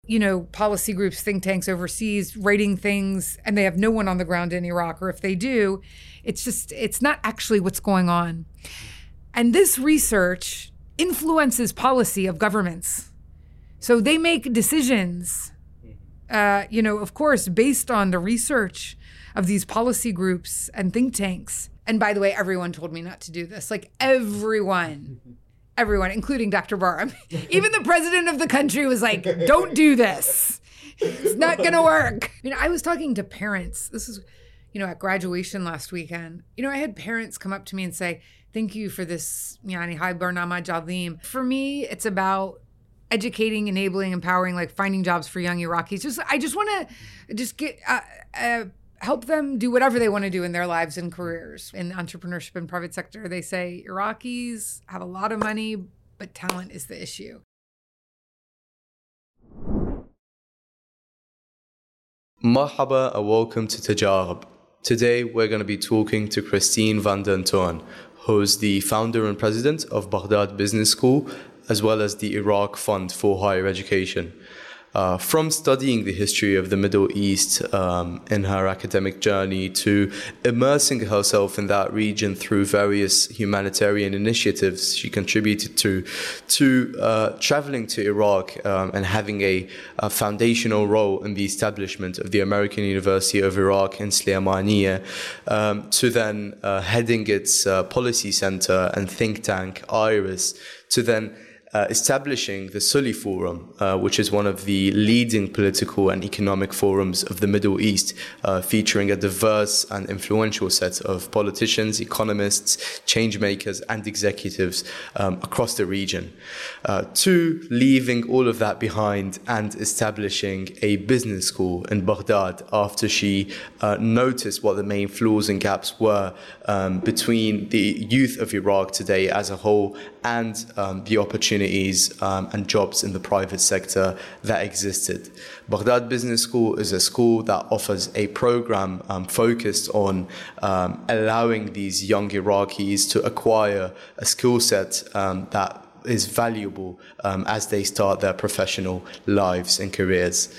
policy groups, think tanks overseas writing things, and they have no one on the ground in Iraq, or if they do, it's not actually what's going on. And this research influences policy of governments. So they make decisions, of course, based on the research of these policy groups and think tanks. And by the way, everyone told me not to do this. Like everyone, including Dr. Barham. Even the president of the country was like, don't do this. It's not going to work. I was talking to parents. This is, at graduation last weekend. I had parents come up to me and say, thank you for this, Hai Barnamaj Azim. For me, it's about educating, enabling, empowering, like finding jobs for young Iraqis. I just want to get... help them do whatever they want to do in their lives and careers. In entrepreneurship and private sector, they say Iraqis have a lot of money, but talent is the issue. Marhaba and welcome to Tajarab. Today we're going to be talking to Christine van den Toorn, who's the founder and president of Baghdad Business School, as well as the Iraq Fund for Higher Education. From studying the history of the Middle East in her academic journey to immersing herself in that region through various humanitarian initiatives she contributed to traveling to Iraq and having a foundational role in the establishment of the American University of Iraq in Slaymaniyah, to then heading its policy center and think tank, IRIS, to then establishing the Sully Forum, which is one of the leading political and economic forums of the Middle East, featuring a diverse and influential set of politicians, economists, change makers, and executives across the region. To leaving all of that behind and establishing a business school in Baghdad after she noticed what the main flaws and gaps were between the youth of Iraq today as a whole and the opportunities and jobs in the private sector that existed. Baghdad Business School is a school that offers a program focused on allowing these young Iraqis to acquire a skill set that is valuable as they start their professional lives and careers.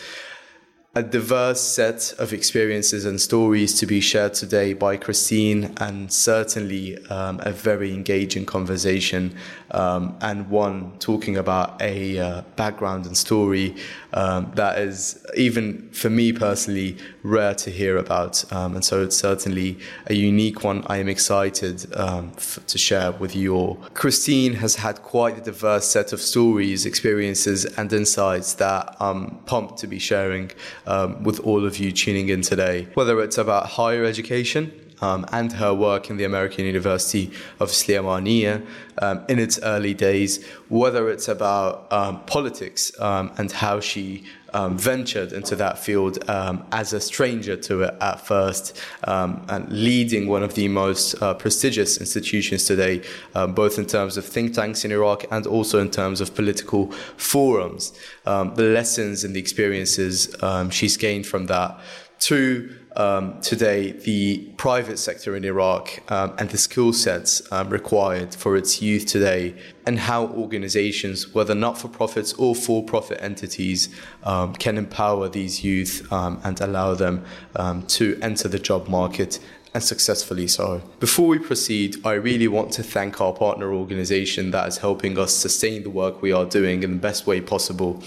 A diverse set of experiences and stories to be shared today by Christine, and certainly a very engaging conversation and one talking about a background and story that is, even for me personally, rare to hear about. And so it's certainly a unique one I am excited to share with you all. Christine has had quite a diverse set of stories, experiences, and insights that I'm pumped to be sharing with all of you tuning in today. Whether it's about higher education and her work in the American University of Slaymaniyah in its early days, whether it's about politics and how she ventured into that field as a stranger to it at first, and leading one of the most prestigious institutions today, both in terms of think tanks in Iraq and also in terms of political forums. The lessons and the experiences she's gained from that, to today the private sector in Iraq and the skill sets required for its youth today, and how organizations, whether not-for-profits or for-profit entities, can empower these youth and allow them to enter the job market, and successfully so. Before we proceed, I really want to thank our partner organization that is helping us sustain the work we are doing in the best way possible,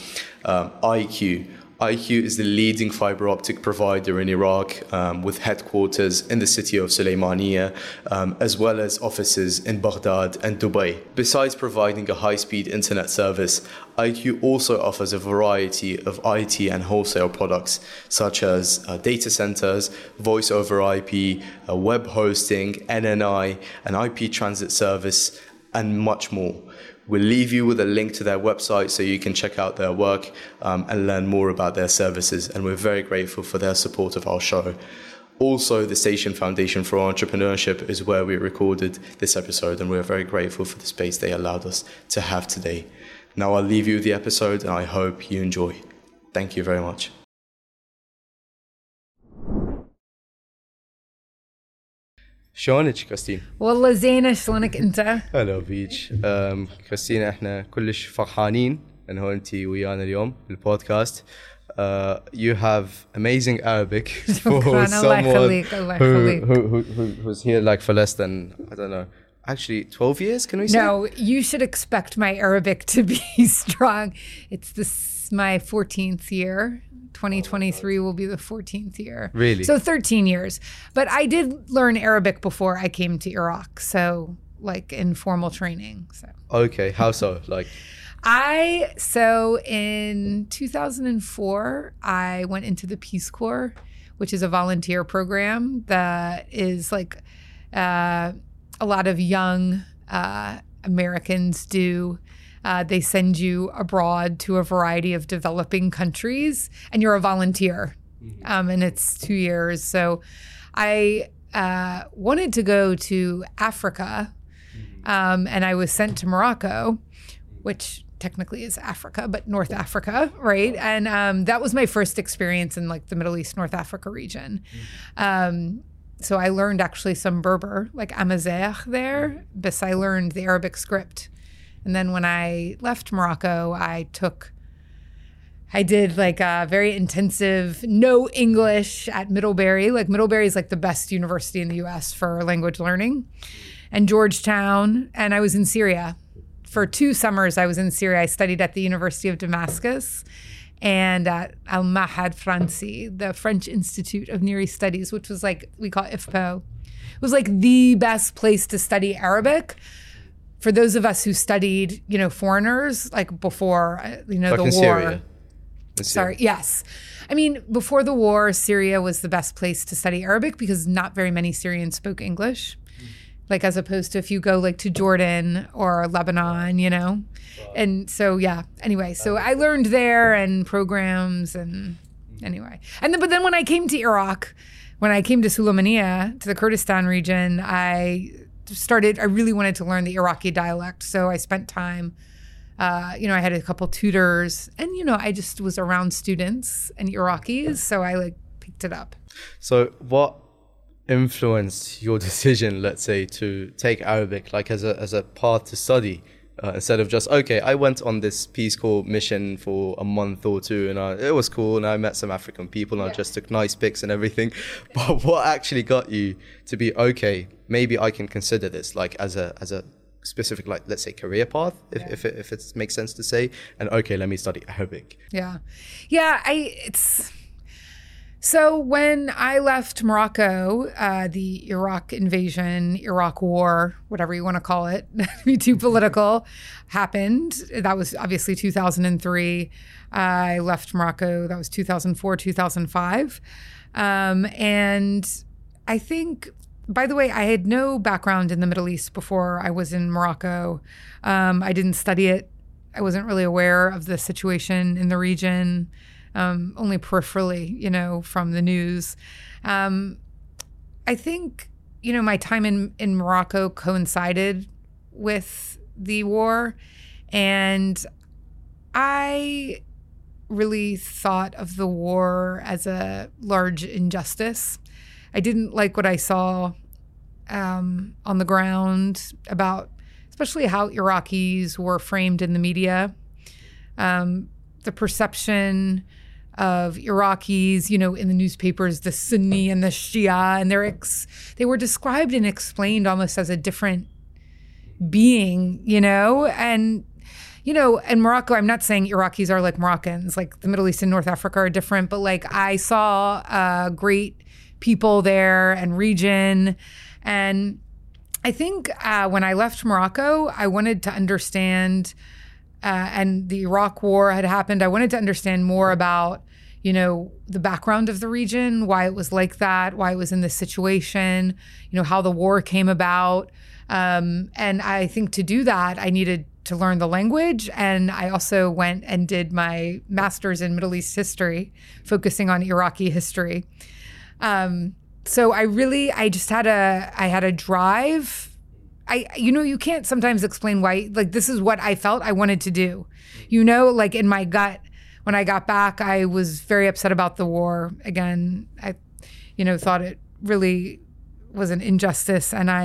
IQ. IQ is the leading fiber optic provider in Iraq, with headquarters in the city of Slaymaniyah, as well as offices in Baghdad and Dubai. Besides providing a high-speed internet service, IQ also offers a variety of IT and wholesale products, such as data centers, voice over IP, web hosting, NNI, an IP transit service, and much more. We'll leave you with a link to their website so you can check out their work and learn more about their services. And we're very grateful for their support of our show. Also, the Station Foundation for Entrepreneurship is where we recorded this episode, and we're very grateful for the space they allowed us to have today. Now I'll leave you with the episode, and I hope you enjoy. Thank you very much. شلونك كريستين؟ والله زينة، شلونك أنت؟ هلا بيك. كريستين، احنا كلش فرحانين انهونتي ويانا اليوم بالبودكاست. You have amazing Arabic for someone who's here like for less than, I don't know, actually 12 years, can we say? No, you should expect my Arabic to be strong. It's my 14th year. 2023 will be the 14th year. Really? So 13 years. But I did learn Arabic before I came to Iraq. So like in formal training. So. Okay, how so? Like... So in 2004, I went into the Peace Corps, which is a volunteer program that is like a lot of young Americans do. They send you abroad to a variety of developing countries, and you're a volunteer. And it's 2 years. So I wanted to go to Africa, and I was sent to Morocco, which technically is Africa, but North Africa, right? And that was my first experience in like the Middle East, North Africa region. So I learned actually some Berber, like Amazigh there, but I learned the Arabic script. And then when I left Morocco, I did like a very intensive no English at Middlebury. Like Middlebury is like the best university in the US for language learning, and Georgetown. And I was in Syria. For 2 summers, I was in Syria. I studied at the University of Damascus and at Al-Mahad Franci, the French Institute of Near East Studies, which was like, we call it IFPO. It was like the best place to study Arabic for those of us who studied, foreigners, like before, the war. Syria. Sorry, yes. I mean, before the war, Syria was the best place to study Arabic because not very many Syrians spoke English. Like as opposed to if you go like to Jordan or Lebanon, And so, yeah, anyway, so I learned there and programs and anyway. But then when I came to Iraq, when I came to Sulaymaniyah, to the Kurdistan region, I really wanted to learn the Iraqi dialect. So I spent time, I had a couple tutors and, I just was around students and Iraqis. So I like picked it up. So what influenced your decision, let's say, to take Arabic like as a path to study instead of just, okay, I went on this Peace Corps mission for a month or two and it was cool and I met some African people and I just took nice pics and everything. But what actually got you to be, okay, maybe I can consider this like as a specific, like, let's say, career path, if it makes sense to say, and okay, let me study Arabic. So when I left Morocco, the Iraq invasion, Iraq war, whatever you want to call it, not to be too political, happened. That was obviously 2003. I left Morocco. That was 2004, 2005. And I think, by the way, I had no background in the Middle East before I was in Morocco. I didn't study it. I wasn't really aware of the situation in the region. Only peripherally, from the news. I think, my time in Morocco coincided with the war. And I really thought of the war as a large injustice. I didn't like what I saw on the ground about, especially how Iraqis were framed in the media. The perception of Iraqis, in the newspapers, the Sunni and the Shia, and they were described and explained almost as a different being, and, in Morocco, I'm not saying Iraqis are like Moroccans, like the Middle East and North Africa are different, but like I saw great people there and region. And I think when I left Morocco, I wanted to understand and the Iraq war had happened. I wanted to understand more about, the background of the region, why it was like that, why it was in this situation, how the war came about. And I think to do that, I needed to learn the language. And I also went and did my master's in Middle East history, focusing on Iraqi history. So I just had a drive. You can't sometimes explain why, like, this is what I felt I wanted to do. Like in my gut, when I got back, I was very upset about the war. Again, I, thought it really was an injustice. And I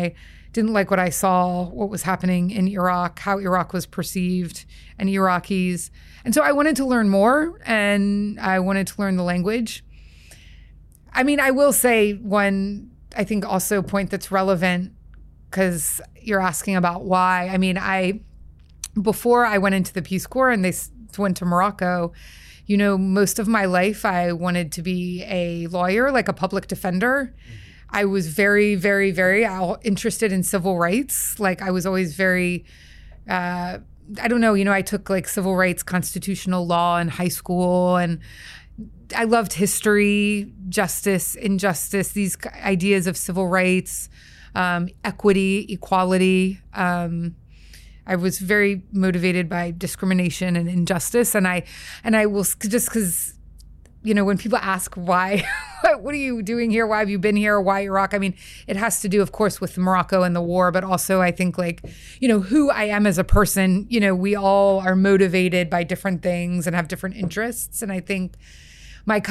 didn't like what I saw, what was happening in Iraq, how Iraq was perceived, and Iraqis. And so I wanted to learn more, and I wanted to learn the language. I mean, I will say one, I think also point that's relevant, because you're asking about why. I mean, before I went into the Peace Corps and they went to Morocco, you know, most of my life I wanted to be a lawyer, like a public defender. I was very, very, very interested in civil rights. Like I was always very, I don't know, you know, I took like civil rights, constitutional law in high school, and I loved history, justice, injustice, these ideas of civil rights, equity, equality. I was very motivated by discrimination and injustice. And I will, just because, you know, when people ask why, what are you doing here? Why have you been here? Why Iraq? I mean, it has to do, of course, with Morocco and the war, but also I think like, you know, who I am as a person, you know, we all are motivated by different things and have different interests. And I think my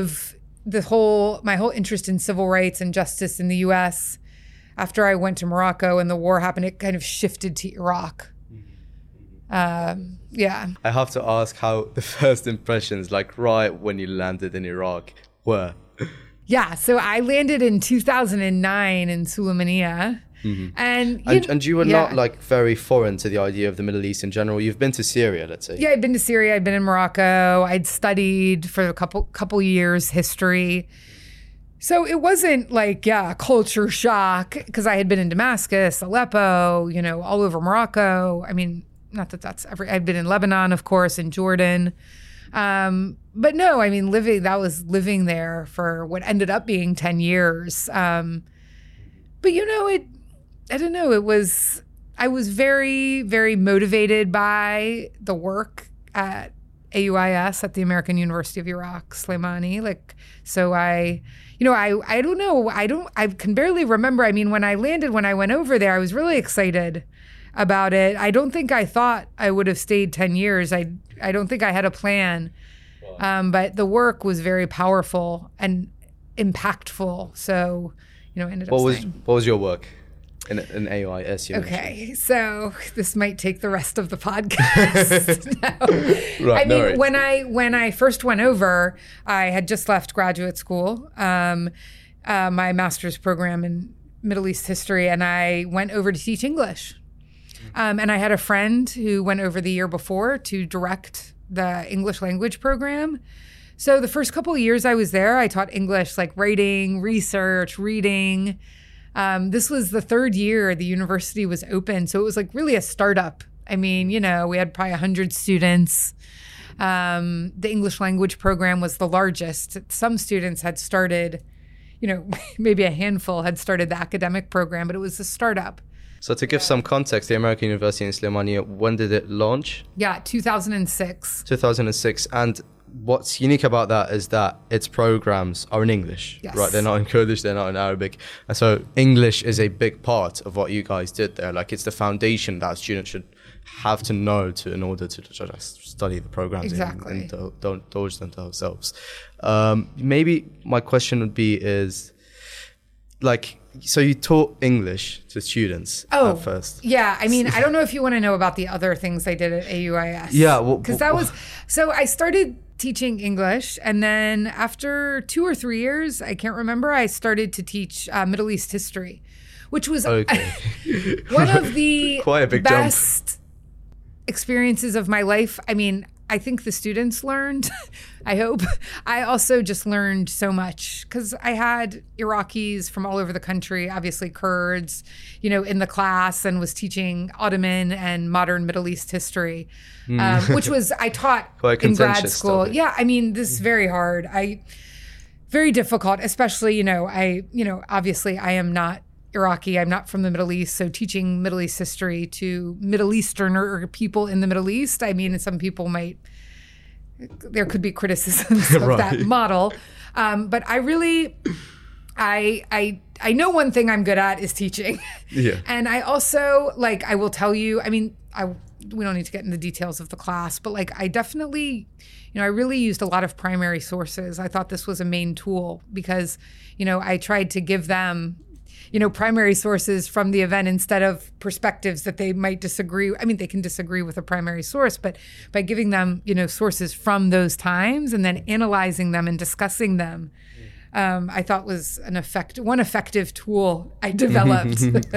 whole interest in civil rights and justice in the US, after I went to Morocco and the war happened, it kind of shifted to Iraq. Yeah. I have to ask how the first impressions, like right when you landed in Iraq, were. Yeah, so I landed in 2009 in Sulaymaniyah. Mm-hmm. And you were not like very foreign to the idea of the Middle East in general. You've been to Syria, let's say. Yeah, I'd been to Syria. I'd been in Morocco. I'd studied for a couple years history. So it wasn't like, culture shock, because I had been in Damascus, Aleppo, you know, all over Morocco. I mean, not that that's I'd been in Lebanon, of course, in Jordan. But no, I mean, that was living there for what ended up being 10 years. But you know, I don't know, I was very, very motivated by the work at AUIS, at the American University of Iraq, Sulaimani. Like, so I don't know, I can barely remember. I mean, when I went over there, I was really excited about it. I don't think I thought I would have stayed 10 years. I don't think I had a plan. But the work was very powerful and impactful. So, you know, I ended up staying. What was your work in AUIS? Okay, so this might take the rest of the podcast. No. Right, I mean, when I first went over, I had just left graduate school, my master's program in Middle East history, and I went over to teach English. And I had a friend who went over the year before to direct the English language program. So the first couple of years I was there, I taught English, like writing, research, reading. This was the third year the university was open. So it was like really a startup. I mean, you know, we had probably 100 students. The English language program was the largest. Some students had started, you know, maybe a handful had started the academic program, but it was a startup. So to give some context, the American University in Sulaimaniya, when did it launch? Yeah, 2006. 2006. And what's unique about that is that its programs are in English, yes. Right? They're not in Kurdish, they're not in Arabic. And so English is a big part of what you guys did there. Like it's the foundation that students should have to know in order to just study the programs. Exactly. and don't dodge them themselves. Maybe my question would be is, like, so you taught English to students at first? Yeah. I mean, I don't know if you want to know about the other things I did at AUIS. Yeah. Because so I started teaching English, and then after 2 or 3 years, I can't remember, I started to teach Middle East history, which was one of the quite a big best experiences of my life. I mean, I think the students learned, I hope. I also just learned so much because I had Iraqis from all over the country, obviously Kurds, you know, in the class, and was teaching Ottoman and modern Middle East history, which I taught in grad school. Topic. Yeah, I mean, this is very hard. Very difficult, especially, obviously I am not Iraqi. I'm not from the Middle East. So teaching Middle East history to Middle Easterner people in the Middle East, I mean, some people there could be criticisms of that model. But I really, I know one thing I'm good at is teaching. Yeah. And I also, I will tell you, I mean, we don't need to get into the details of the class, but I definitely, I really used a lot of primary sources. I thought this was a main tool because, I tried to give them, primary sources from the event instead of perspectives that they might disagree. I mean, they can disagree with a primary source, but by giving them, sources from those times and then analyzing them and discussing them, I thought was one effective tool I developed.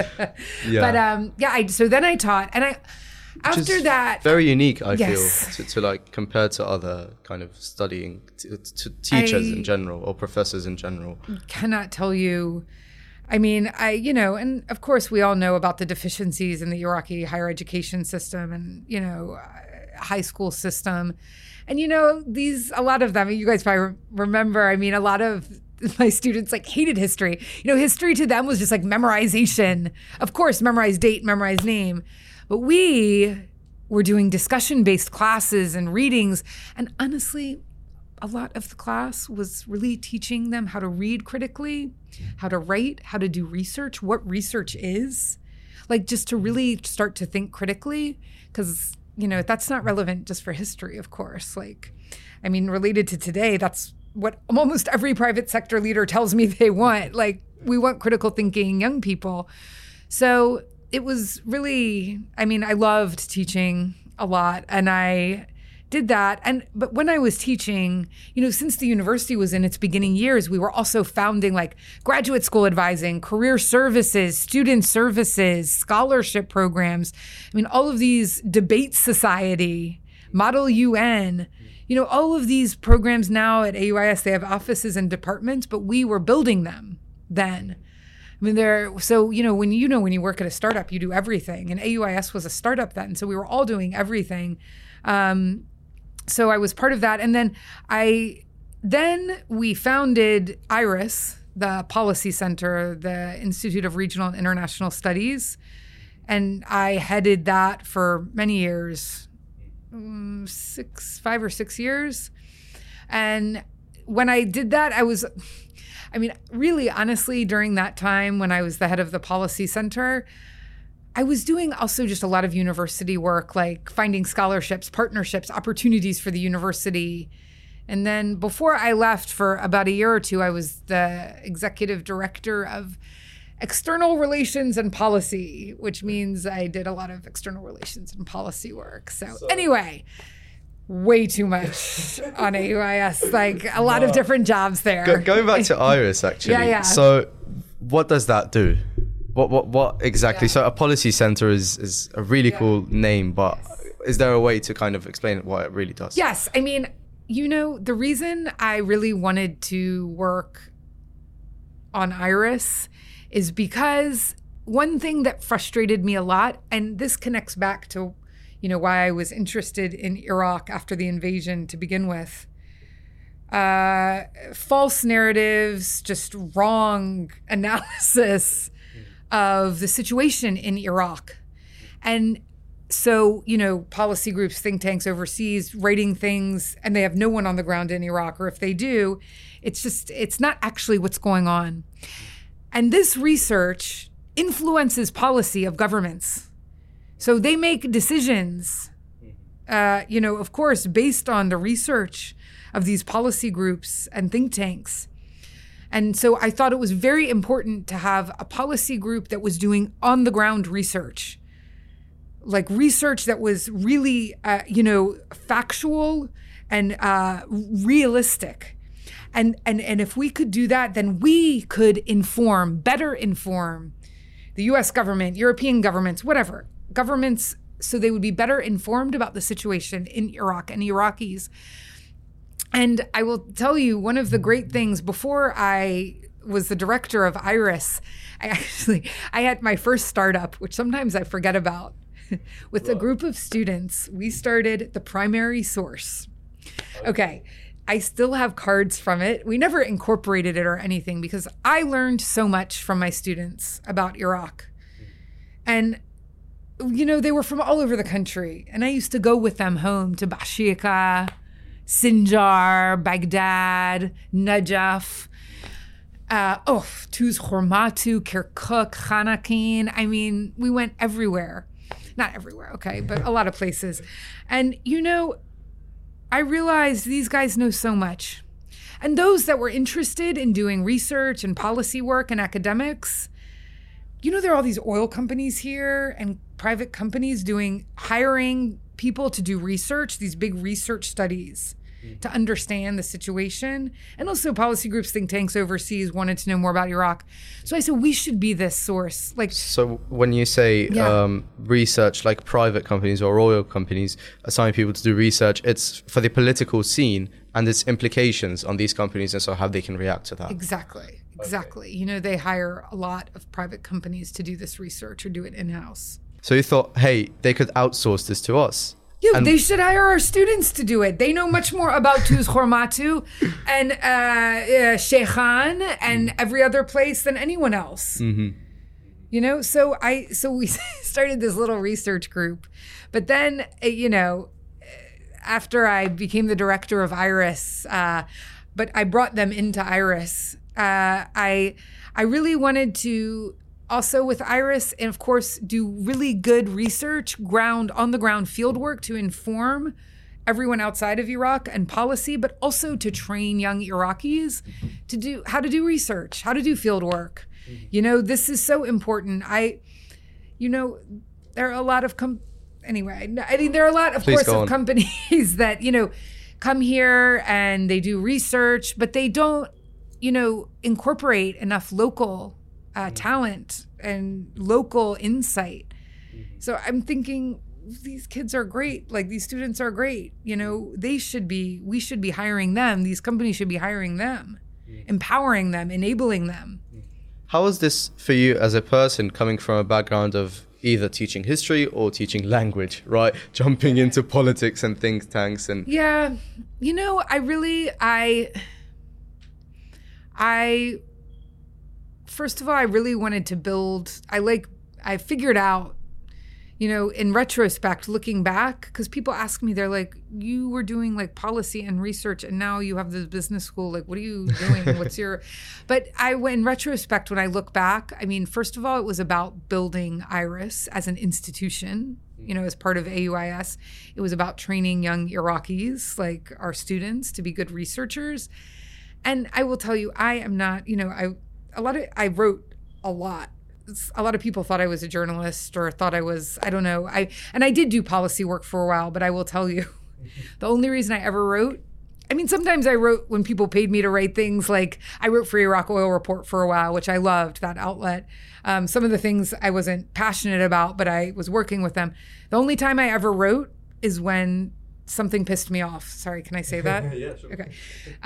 So then I taught, and after that, very unique, I yes. feel, to like compare to other kind of studying to teachers in general or professors in general. Cannot tell you. I mean, and of course we all know about the deficiencies in the Iraqi higher education system and, high school system. And, a lot of them, you guys probably remember, a lot of my students hated history. History to them was just memorization. Of course, memorize date, memorize name. But we were doing discussion-based classes and readings. And honestly, a lot of the class was really teaching them how to read critically, how to write, how to do research, what research is, just to really start to think critically, because, that's not relevant just for history, of course. Related to today, that's what almost every private sector leader tells me they want. We want critical thinking young people. So it was really, I loved teaching a lot, and I did that. But when I was teaching, since the university was in its beginning years, we were also founding graduate school advising, career services, student services, scholarship programs. All of these, debate society, Model UN, all of these programs now at AUIS, they have offices and departments, but we were building them then. When you work at a startup, you do everything. And AUIS was a startup then. So we were all doing everything. So I was part of that. And then we founded IRIS, the Policy Center, the Institute of Regional and International Studies. And I headed that for many years, 5 or 6 years. And when I did that, really, honestly, during that time when I was the head of the Policy Center, I was doing also just a lot of university work, finding scholarships, partnerships, opportunities for the university. And then before I left for about a year or two, I was the executive director of external relations and policy, which means I did a lot of external relations and policy work. So anyway, way too much on AUIS, a lot of different jobs there. Going back to IRIS, actually. Yeah. So what does that do? What exactly? Yeah. So a policy center is a really cool name, but is there a way to kind of explain what it really does? Yes. The reason I really wanted to work on IRIS is because one thing that frustrated me a lot, and this connects back to why I was interested in Iraq after the invasion to begin with. False narratives, just wrong analysis of the situation in Iraq. And so, policy groups, think tanks overseas, writing things, and they have no one on the ground in Iraq, or if they do, it's not actually what's going on. And this research influences policy of governments. So they make decisions, of course, based on the research of these policy groups and think tanks. And so I thought it was very important to have a policy group that was doing on-the-ground research, research that was really, factual and realistic. And if we could do that, then we could better inform the U.S. government, European governments, whatever, governments, so they would be better informed about the situation in Iraq and Iraqis. And I will tell you, one of the great things, before I was the director of IRIS, I had my first startup, which sometimes I forget about, with a group of students. We started the Primary Source. Okay. I still have cards from it. We never incorporated it or anything because I learned so much from my students about Iraq. And, they were from all over the country. And I used to go with them home to Bashika, Sinjar, Baghdad, Najaf, Tuz Hormatu, Kirkuk, Khanaqin. We went everywhere. Not everywhere, okay, but a lot of places. And, I realized these guys know so much. And those that were interested in doing research and policy work and academics, there are all these oil companies here and private companies hiring people to do research, these big research studies to understand the situation. And also policy groups, think tanks overseas wanted to know more about Iraq. So I said, we should be this source. So when you say research, like private companies or oil companies assigning people to do research, it's for the political scene and its implications on these companies and so how they can react to that. Exactly. Okay. They hire a lot of private companies to do this research or do it in-house. So you thought, hey, they could outsource this to us. Yeah, they should hire our students to do it. They know much more about Tuz Hormatu and Sheikhan and every other place than anyone else. Mm-hmm. So we started this little research group. But then, after I became the director of IRIS, but I brought them into IRIS, I really wanted to also with IRIS, and of course, do really good research, on-the-ground field work to inform everyone outside of Iraq and policy, but also to train young Iraqis to how to do research, how to do field work. This is so important. There are a lot of there are a lot, of course, of companies that, come here and they do research, but they don't, incorporate enough local talent and local insight. So I'm thinking these kids are great. Like these students are great. We should be hiring them. These companies should be hiring them, empowering them, enabling them. How was this for you as a person coming from a background of either teaching history or teaching language, right? Jumping into politics and think tanks and... Yeah. First of all, I really wanted to build, I figured out, in retrospect, looking back, because people ask me, they're like, you were doing like policy and research and now you have this business school. Like, what are you doing? But in retrospect, when I look back, first of all, it was about building IRIS as an institution, as part of AUIS. It was about training young Iraqis, like our students, to be good researchers. And I will tell you, I am not, I wrote a lot. A lot of people thought I was a journalist or thought I was, I don't know. I did do policy work for a while, but I will tell you, the only reason I ever wrote, sometimes I wrote when people paid me to write things, like I wrote for Iraq Oil Report for a while, which I loved, that outlet. Some of the things I wasn't passionate about, but I was working with them. The only time I ever wrote is when something pissed me off. Sorry, can I say that? Yeah, sure. Okay.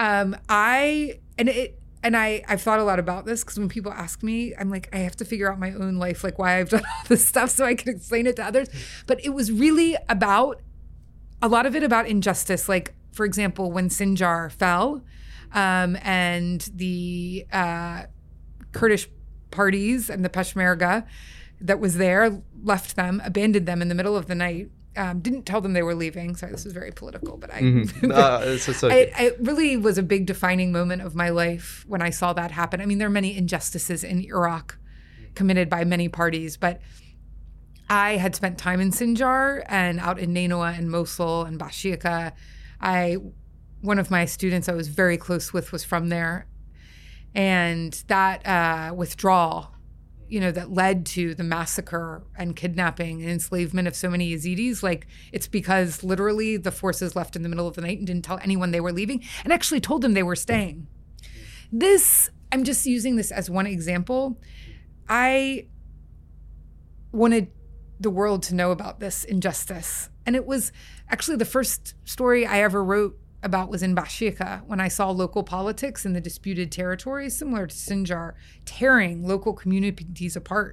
I've thought a lot about this because when people ask me, I'm like, I have to figure out my own life, like why I've done all this stuff so I can explain it to others. But it was really about, a lot of it about injustice. Like, for example, when Sinjar fell and the Kurdish parties and the Peshmerga that was there left them, abandoned them in the middle of the night. Didn't tell them they were leaving. Sorry, this is very political, but it really was a big defining moment of my life when I saw that happen. There are many injustices in Iraq committed by many parties, but I had spent time in Sinjar and out in Nainoa and Mosul and Bashika. One of my students I was very close with was from there. And that withdrawal, that led to the massacre and kidnapping and enslavement of so many Yazidis. Like, it's because literally the forces left in the middle of the night and didn't tell anyone they were leaving and actually told them they were staying. I'm just using this as one example. I wanted the world to know about this injustice. And it was actually the first story I ever wrote about was in Bashika, when I saw local politics in the disputed territories, similar to Sinjar, tearing local communities apart.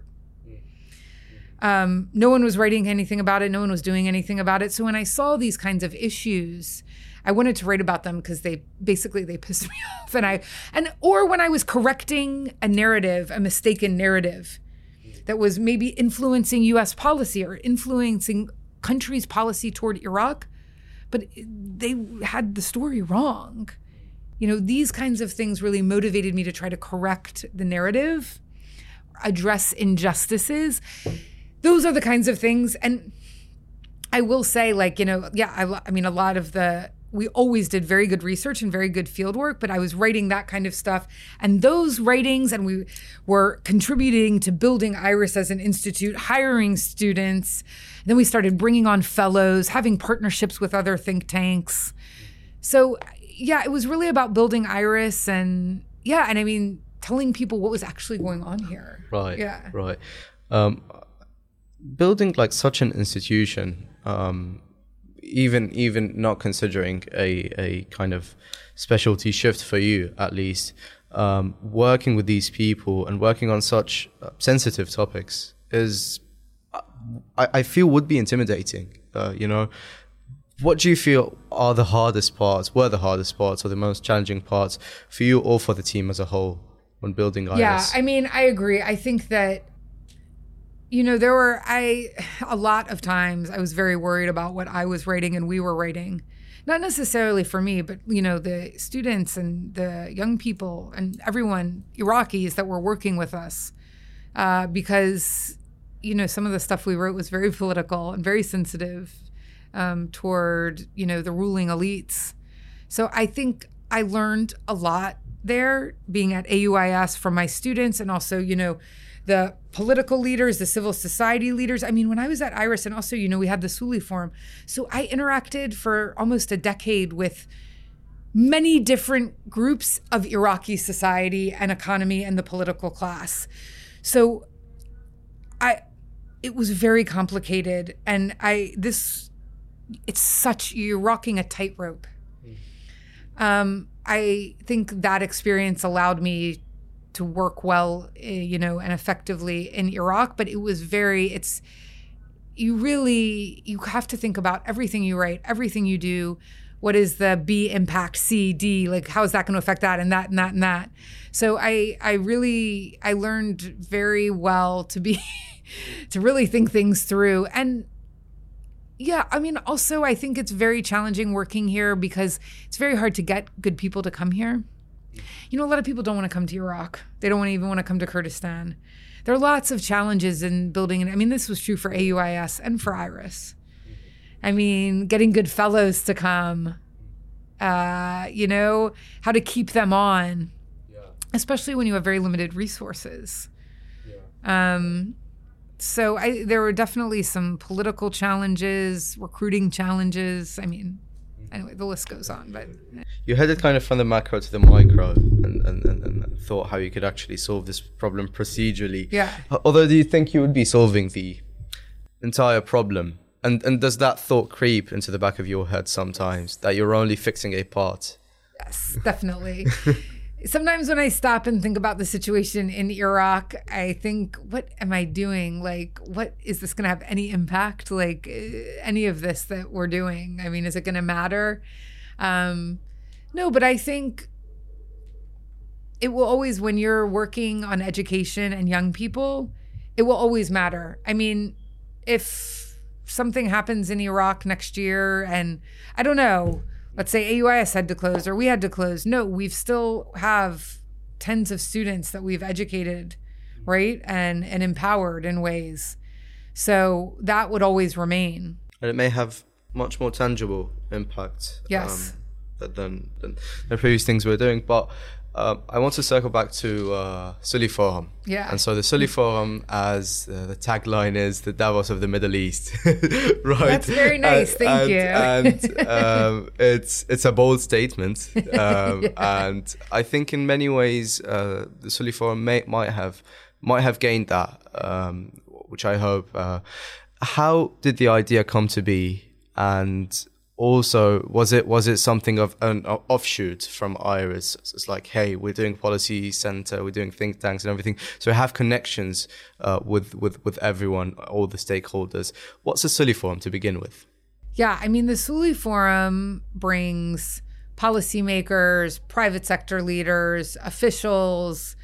No one was writing anything about it. No one was doing anything about it. So when I saw these kinds of issues, I wanted to write about them because they pissed me off. Or when I was correcting a narrative, a mistaken narrative that was maybe influencing U.S. policy or influencing countries' policy toward Iraq, but they had the story wrong. These kinds of things really motivated me to try to correct the narrative, address injustices. Those are the kinds of things. And I will say, a lot of we always did very good research and very good field work, but I was writing that kind of stuff. And those writings, and we were contributing to building IRIS as an institute, hiring students. And then we started bringing on fellows, having partnerships with other think tanks. So yeah, it was really about building IRIS and I mean, telling people what was actually going on here. Right. Yeah. Right. Building like such an institution, even not considering a kind of specialty shift for you, at least, working with these people and working on such sensitive topics is, I feel, would be intimidating. What do you feel were the hardest parts, or the most challenging parts for you or for the team as a whole when building IRIS? Yeah, I mean, I agree. I think that, there were, a lot of times I was very worried about what I was writing and we were writing. Not necessarily for me, but, the students and the young people and everyone, Iraqis that were working with us, because, some of the stuff we wrote was very political and very sensitive toward, the ruling elites. So I think I learned a lot there being at AUIS from my students and also, the political leaders, the civil society leaders. I mean, when I was at IRIS and also, we had the Suli Forum. So I interacted for almost a decade with many different groups of Iraqi society and economy and the political class. So it was very complicated. And you're rocking a tightrope. I think that experience allowed me to work well, and effectively in Iraq, but it was you have to think about everything you write, everything you do. What is the B impact, C, D, like how is that going to affect that and that and that and that? So I learned very well to really think things through. And yeah, I mean, also I think it's very challenging working here because it's very hard to get good people to come here. A lot of people don't want to come to Iraq. They don't even want to come to Kurdistan. There are lots of challenges in building. I mean, this was true for AUIS and for IRIS. I mean, getting good fellows to come, how to keep them on, especially when you have very limited resources. So there were definitely some political challenges, recruiting challenges. I mean, anyway, the list goes on. But you headed kind of from the macro to the micro and thought how you could actually solve this problem procedurally. Yeah. Although, do you think you would be solving the entire problem? And does that thought creep into the back of your head sometimes, that you're only fixing a part? Yes, definitely. Sometimes when I stop and think about the situation in Iraq, I think, what am I doing? Like, what is this going to have any impact? Like, any of this that we're doing? I mean, is it going to matter? No, but I think it will always, when you're working on education and young people, it will always matter. I mean, if something happens in Iraq next year and I don't know, let's say AUIS had to close or we had to close. No, we still have tens of students that we've educated, right? And empowered in ways. So that would always remain. And it may have much more tangible impact than the previous things we were doing. But I want to circle back to Suli Forum. Yeah. And so the Suli Forum, as the tagline is, the Davos of the Middle East, right? That's very nice. Thank you. And it's a bold statement. And I think in many ways the Suli Forum might have gained that, which I hope. How did the idea come to be? And also, was it something of an offshoot from IRIS? It's like, hey, we're doing policy center, we're doing think tanks and everything, so we have connections with everyone, all the stakeholders. What's the Suli Forum to begin with? Yeah, I mean, the Suli Forum brings policymakers, private sector leaders, officials,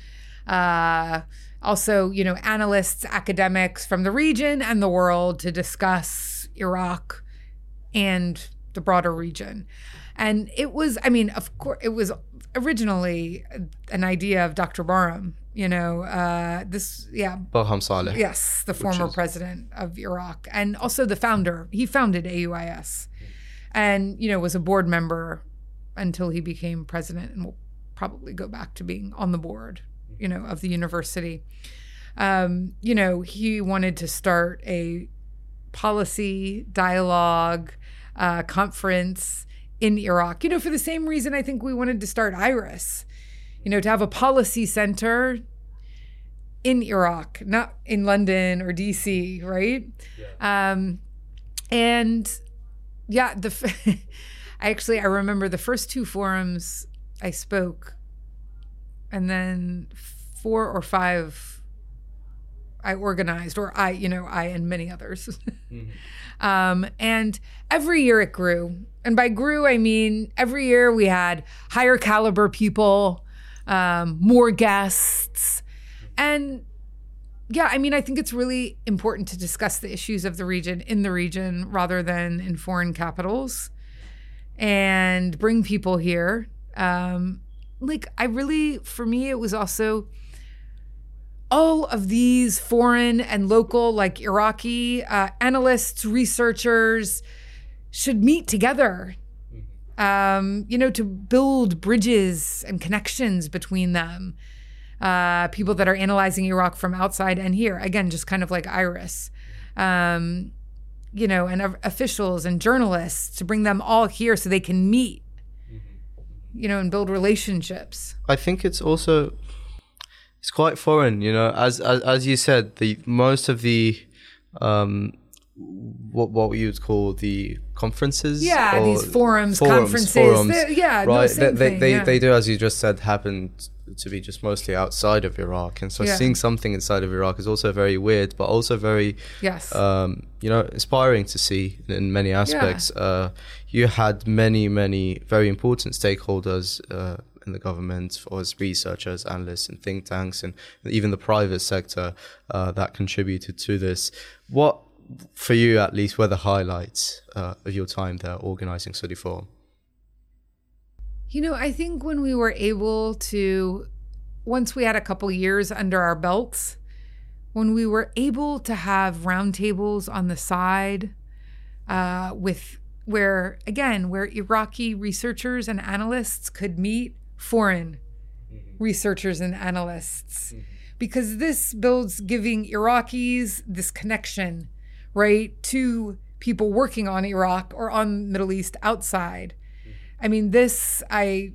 also, analysts, academics from the region and the world to discuss Iraq and the broader region. And it was, of course, it was originally an idea of Dr. Barham, Barham Saleh. Yes, the former president of Iraq and also the founder. He founded AUIS. and, was a board member until he became president, and will probably go back to being on the board, of the university. He wanted to start a policy dialogue conference in Iraq, for the same reason I think we wanted to start IRIS, to have a policy center in Iraq, not in London or DC, right? Yeah. I remember the first 2 forums I spoke, and then 4 or 5 I organized, or I and many others. Mm-hmm. And every year it grew. And by grew, I mean every year we had higher caliber people, more guests. And I think it's really important to discuss the issues of the region in the region rather than in foreign capitals, and bring people here. For me, it was also all of these foreign and local, like Iraqi analysts, researchers should meet together, to build bridges and connections between them. People that are analyzing Iraq from outside and here, again, just kind of like IRIS, and officials and journalists, to bring them all here so they can meet, and build relationships. I think it's also, it's quite foreign, as you said, most of the, what you would call the conferences. Yeah, these forums, conferences. Right. They do, as you just said, happen to be just mostly outside of Iraq. And so seeing something inside of Iraq is also very weird, but also very, inspiring to see in many aspects. Yeah. You had many, many very important stakeholders in the government, or as researchers, analysts, and think tanks, and even the private sector that contributed to this. What, for you at least, were the highlights of your time there organizing Study Forum? I think when we were able to, once we had a couple years under our belts, when we were able to have roundtables on the side where Iraqi researchers and analysts could meet foreign researchers and analysts, because this builds giving Iraqis this connection, right, to people working on Iraq or on Middle East outside. I mean, this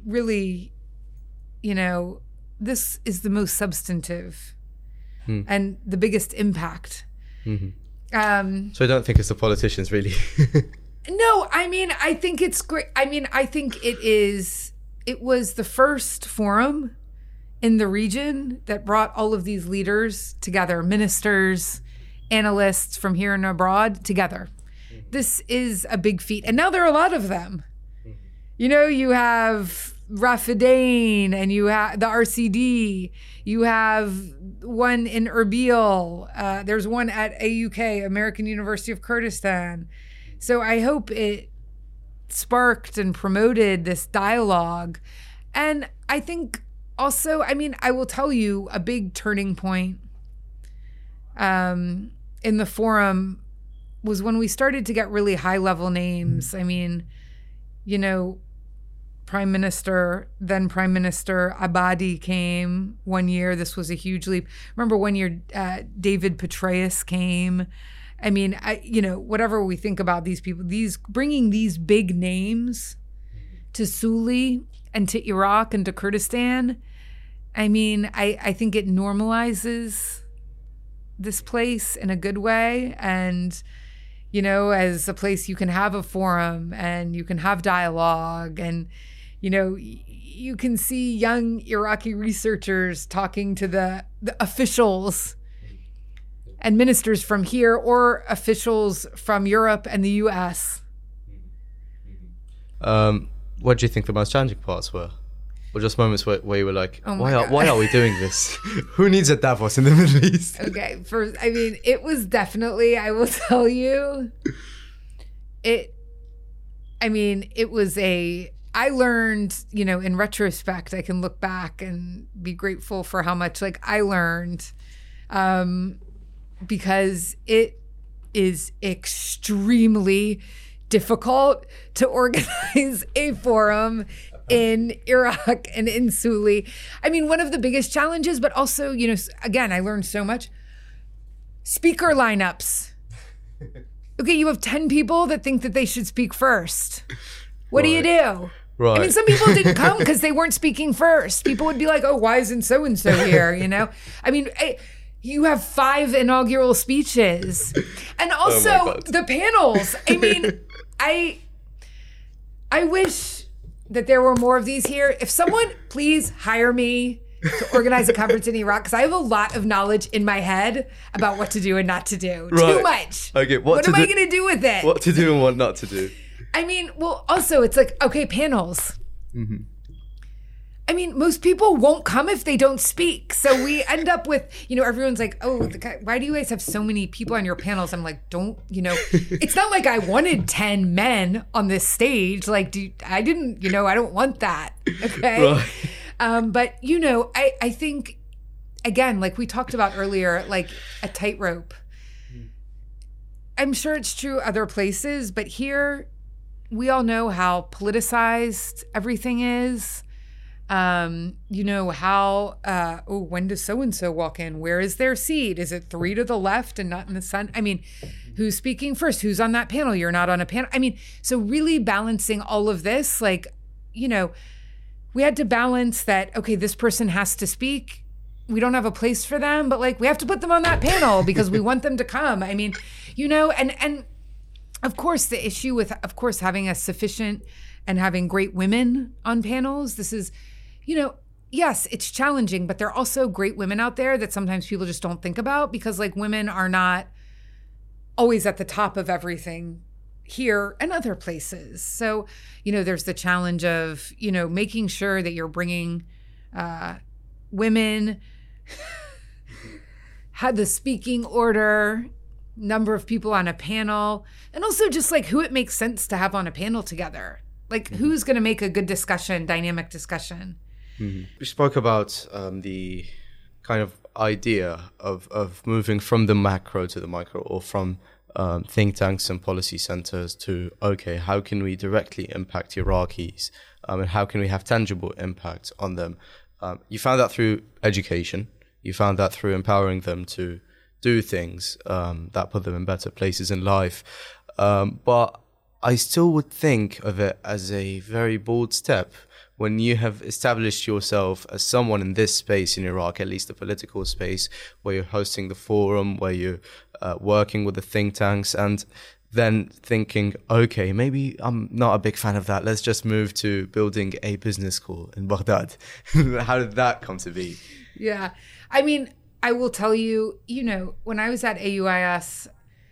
is the most substantive and the biggest impact. Mm-hmm. So I don't think it's the politicians, really. No, I think it's great. I think it was the first forum in the region that brought all of these leaders together, ministers, analysts from here and abroad together. This is a big feat. And now there are a lot of them. You have Rafidain, and you have the RCD. You have one in Erbil. There's one at AUK, American University of Kurdistan. So I hope it sparked and promoted this dialogue. And I think also, I will tell you, a big turning point in the forum was when we started to get really high-level names. then Prime Minister Abadi came one year. This was a huge leap. Remember one year, David Petraeus came. Whatever we think about these people, bringing these big names to Suli and to Iraq and to Kurdistan, I think it normalizes this place in a good way. And, as a place you can have a forum and you can have dialogue, and, you can see young Iraqi researchers talking to the officials and ministers from here, or officials from Europe and the US. What do you think the most challenging parts were? Or just moments where you were like, why are we doing this? Who needs a Davos in the Middle East? Okay, it was definitely, I will tell you, I learned, in retrospect, I can look back and be grateful for how much I learned, because it is extremely difficult to organize a forum in Iraq and in Suli. I mean, one of the biggest challenges, but also, again, I learned so much. Speaker lineups. Okay, you have 10 people that think that they should speak first. What do you do? Right. I mean, some people didn't come because they weren't speaking first. People would be like, oh, why isn't so-and-so here, I mean, you have 5 inaugural speeches. And also the panels. I mean, I wish that there were more of these here. If someone, please hire me to organize a conference in Iraq, because I have a lot of knowledge in my head about what to do and not to do. Right. Too much. Okay, what am I going to do with it? What to do and what not to do. I mean, well, also, it's like, okay, panels. Mm-hmm. I mean, most people won't come if they don't speak. So we end up with, everyone's like, oh, why do you guys have so many people on your panels? I'm like, it's not like I wanted 10 men on this stage. Like, I didn't, I don't want that. Okay. Right. But, I think, again, like we talked about earlier, like a tightrope. I'm sure it's true other places, but here we all know how politicized everything is. How, when does so-and-so walk in? Where is their seat? Is it 3 to the left and not in the center? I mean, who's speaking first? Who's on that panel? You're not on a panel. I mean, so really balancing all of this, like, we had to balance that, okay, this person has to speak. We don't have a place for them, but like, we have to put them on that panel because we want them to come. I mean, and of course, the issue with, having a sufficient and having great women on panels, this is, yes, it's challenging, but there are also great women out there that sometimes people just don't think about because like women are not always at the top of everything here and other places. So, there's the challenge of, making sure that you're bringing women, had the speaking order, number of people on a panel, and also just like who it makes sense to have on a panel together. Like who's going to make a good discussion, dynamic discussion. Mm-hmm. We spoke about the kind of idea of moving from the macro to the micro, or from think tanks and policy centers to, okay, how can we directly impact Iraqis and how can we have tangible impact on them? You found that through education. You found that through empowering them to do things that put them in better places in life. But I still would think of it as a very bold step when you have established yourself as someone in this space in Iraq, at least the political space, where you're hosting the forum, where you're working with the think tanks, and then thinking, okay, maybe I'm not a big fan of that. Let's just move to building a business school in Baghdad. How did that come to be? Yeah. I mean, I will tell you, when I was at AUIS,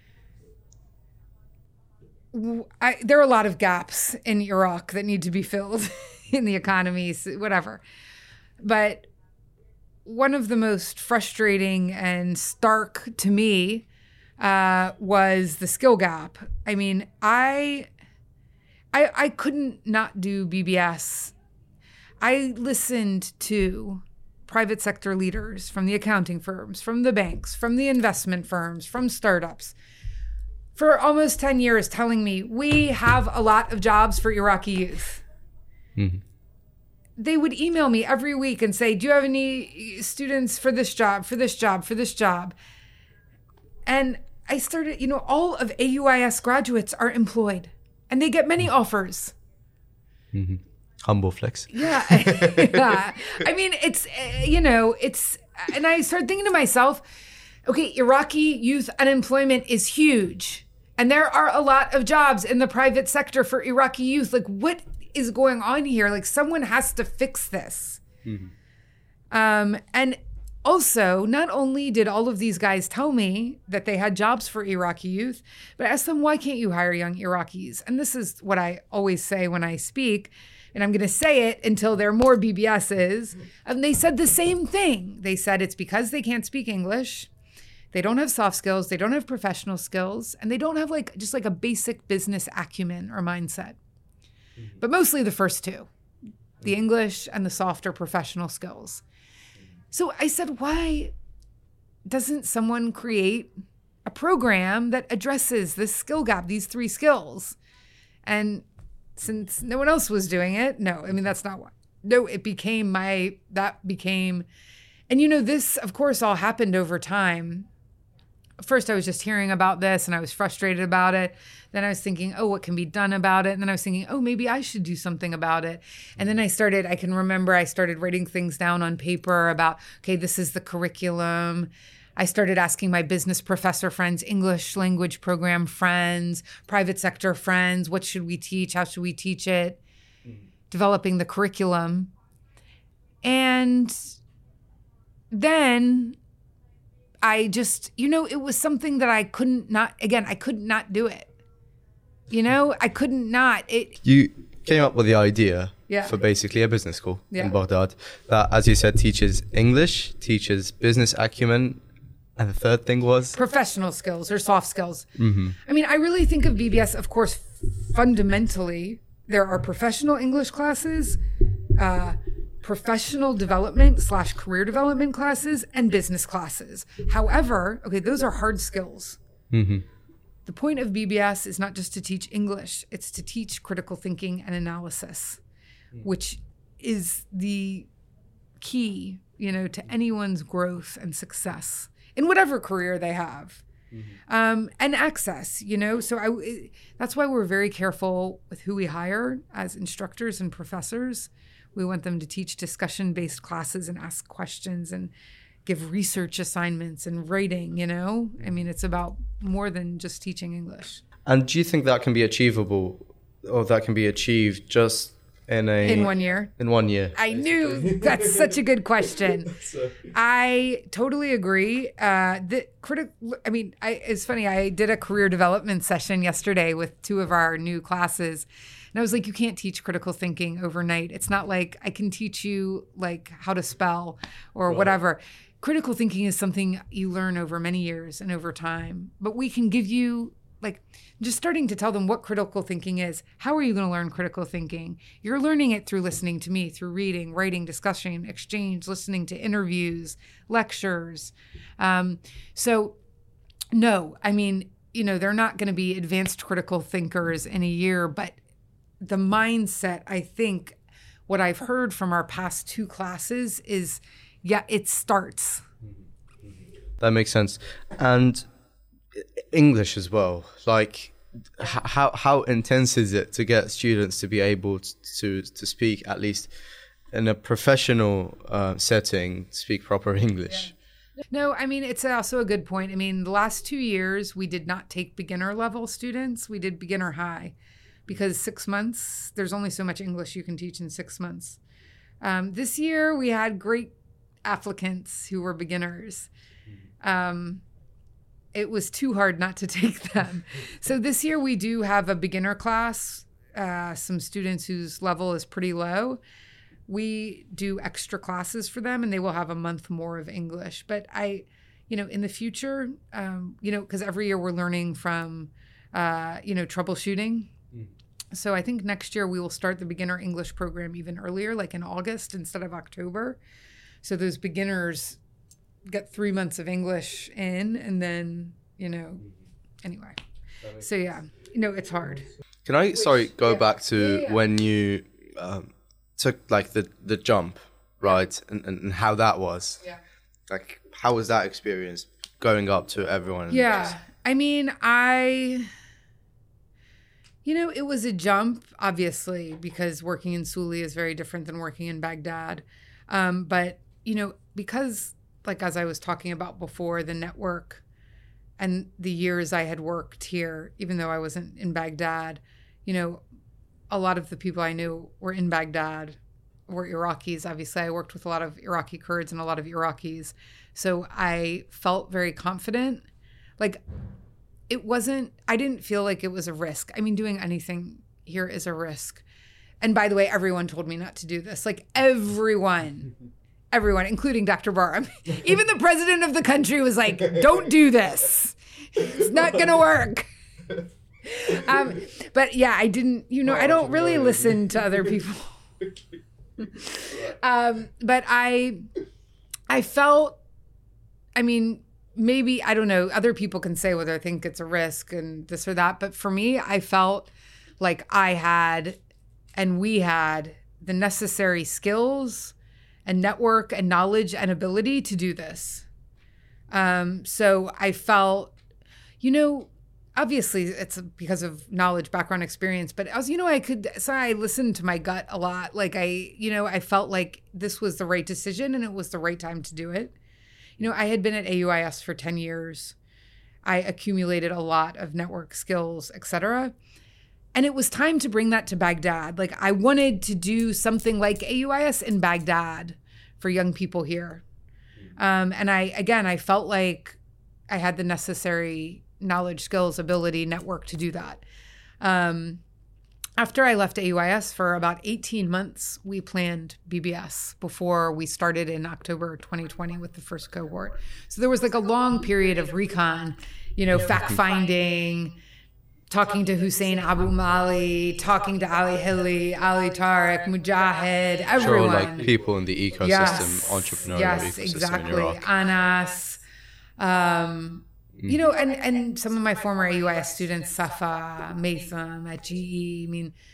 there are a lot of gaps in Iraq that need to be filled in the economies, whatever. But one of the most frustrating and stark to me was the skill gap. I mean, I couldn't not do BBS. I listened to private sector leaders from the accounting firms, from the banks, from the investment firms, from startups for almost 10 years telling me, we have a lot of jobs for Iraqi youth. Mm-hmm. They would email me every week and say, do you have any students for this job, for this job, for this job? And I started, all of AUIS graduates are employed and they get many offers. Mm-hmm. Humble flex. Yeah. Yeah. I mean, it's, and I started thinking to myself, okay, Iraqi youth unemployment is huge. And there are a lot of jobs in the private sector for Iraqi youth. Like, what is going on here? Like, someone has to fix this. Mm-hmm. And also, not only did all of these guys tell me that they had jobs for Iraqi youth, but I asked them, why can't you hire young Iraqis? And this is what I always say when I speak, and I'm going to say it until there are more BBSs. And they said the same thing. They said it's because they can't speak English. They don't have soft skills. They don't have professional skills. And they don't have just a basic business acumen or mindset. Mm-hmm. But mostly the first two, the English and the softer professional skills. So I said, why doesn't someone create a program that addresses this skill gap, these 3 skills? And since no one else was doing it, no, I mean, that's not what. No, it became and this, of course, all happened over time. First, I was just hearing about this and I was frustrated about it. Then I was thinking, oh, what can be done about it? And then I was thinking, oh, maybe I should do something about it. And then I can remember I started writing things down on paper about, okay, this is the curriculum. I started asking my business professor friends, English language program friends, private sector friends, what should we teach? How should we teach it? Developing the curriculum. And then I just, it was something that I could not do it. I couldn't not. You came up with the idea Yeah. for basically a business school Yeah. in Baghdad that, as you said, teaches English, teaches business acumen, and the third thing was? Professional skills or soft skills. Mm-hmm. I mean, I really think of BBS, of course, fundamentally, there are professional English classes, professional development / career development classes, and business classes. However, okay, those are hard skills. Mm-hmm. The point of BBS is not just to teach English, it's to teach critical thinking and analysis, which is the key, to anyone's growth and success in whatever career they have. And access, so that's why we're very careful with who we hire as instructors and professors. We want them to teach discussion-based classes and ask questions and give research assignments and writing, I mean, it's about more than just teaching English. And do you think that can be achievable, or that can be achieved just in 1 year? In 1 year. I knew that's such a good question. I totally agree. It's funny. I did a career development session yesterday with 2 of our new classes. And I was like, you can't teach critical thinking overnight. It's not like I can teach you like how to spell or whatever. Critical thinking is something you learn over many years and over time. But we can give you just starting to tell them what critical thinking is. How are you going to learn critical thinking? You're learning it through listening to me, through reading, writing, discussion, exchange, listening to interviews, lectures. So no, I mean, they're not going to be advanced critical thinkers in a year, but the mindset, I think what I've heard from our past 2 classes is, it starts. That makes sense. And English as well. Like, how intense is it to get students to be able to speak, at least in a professional setting, speak proper English? Yeah. No, I mean, it's also a good point. I mean, the last 2 years, we did not take beginner level students. We did beginner high because 6 months, there's only so much English you can teach in 6 months. This year, we had great applicants who were beginners. It was too hard not to take them. So this year we do have a beginner class, some students whose level is pretty low. We do extra classes for them and they will have a month more of English. But in the future, because every year we're learning from, troubleshooting. So I think next year we will start the beginner English program even earlier, like in August instead of October. So those beginners get 3 months of English in, and then, anyway. So yeah, it's hard. Can I, go back to when you took like the jump, right? And how that was. Yeah. Like, how was that experience going up to everyone? Yeah. I mean, it was a jump, obviously, because working in Suli is very different than working in Baghdad. But, because, like, as I was talking about before, the network and the years I had worked here, even though I wasn't in Baghdad, a lot of the people I knew were in Baghdad, were Iraqis. Obviously, I worked with a lot of Iraqi Kurds and a lot of Iraqis. So I felt very confident. Like, I didn't feel like it was a risk. I mean, doing anything here is a risk. And by the way, everyone told me not to do this. Like, everyone, including Dr. Barham. Even the president of the country was like, don't do this. It's not going to work. But yeah, I didn't, I don't really listen to other people. But I felt, maybe, I don't know, other people can say whether I think it's a risk and this or that. But for me, I felt like I had and we had the necessary skills and network and knowledge and ability to do this. So I felt, obviously it's because of knowledge, background, experience, but I was, I listened to my gut a lot. Like I felt like this was the right decision and it was the right time to do it. I had been at AUIS for 10 years. I accumulated a lot of network skills, et cetera. And it was time to bring that to Baghdad. Like I wanted to do something like AUIS in Baghdad for young people here. And I felt like I had the necessary knowledge, skills, ability, network to do that. After I left AUIS for about 18 months, we planned BBS before we started in October 2020 with the first cohort. So there was like a long period of recon, fact-finding, talking to Hussein Abu Mali, talking to Ali Hilli, Ali Tariq, Mujahid, everyone. Sure, like people in the ecosystem, entrepreneurial ecosystem exactly. in Iraq. Anas, and some of my former AUIS students, Safa, Matham at GE.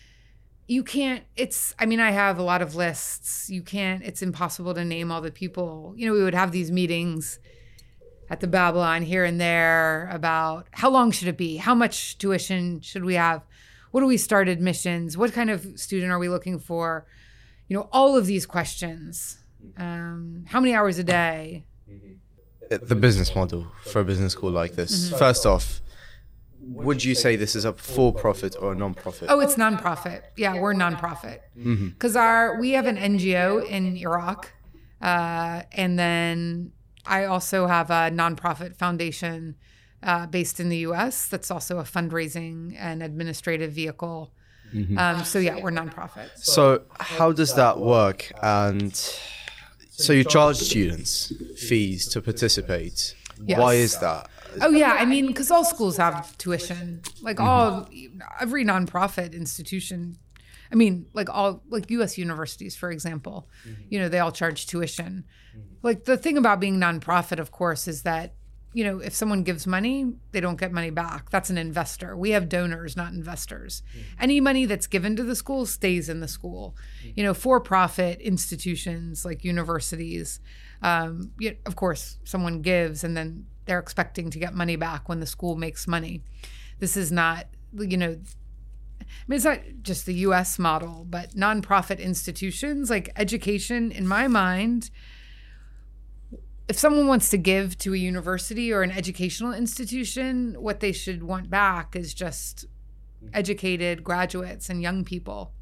I have a lot of lists. It's impossible to name all the people. We would have these meetings at the Babylon here and there about how long should it be? How much tuition should we have? What do we start admissions? What kind of student are we looking for? All of these questions. How many hours a day? The business model for a business school like this. Mm-hmm. First off, would you say this is a for-profit or a non-profit? Oh, it's non-profit. Yeah, we're non-profit. Because we have an NGO in Iraq, and then I also have a non-profit foundation based in the U.S. that's also a fundraising and administrative vehicle. Mm-hmm. We're non-profit. So how does that work? And so you charge students fees to participate. Yes. Why is that? Oh, yeah. because all schools have tuition. Like every nonprofit institution. U.S. universities, for example, they all charge tuition. Like the thing about being nonprofit, of course, is that, if someone gives money, they don't get money back. That's an investor. We have donors, not investors. Any money that's given to the school stays in the school. For-profit institutions like universities, of course, someone gives and then they're expecting to get money back when the school makes money. This is not, it's not just the U.S. model, but nonprofit institutions like education, in my mind, if someone wants to give to a university or an educational institution, what they should want back is just educated graduates and young people.